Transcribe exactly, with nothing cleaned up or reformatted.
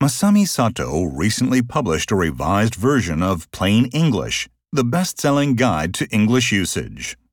Masami Sato recently published a revised version of Plain English, the best-selling guide to English usage.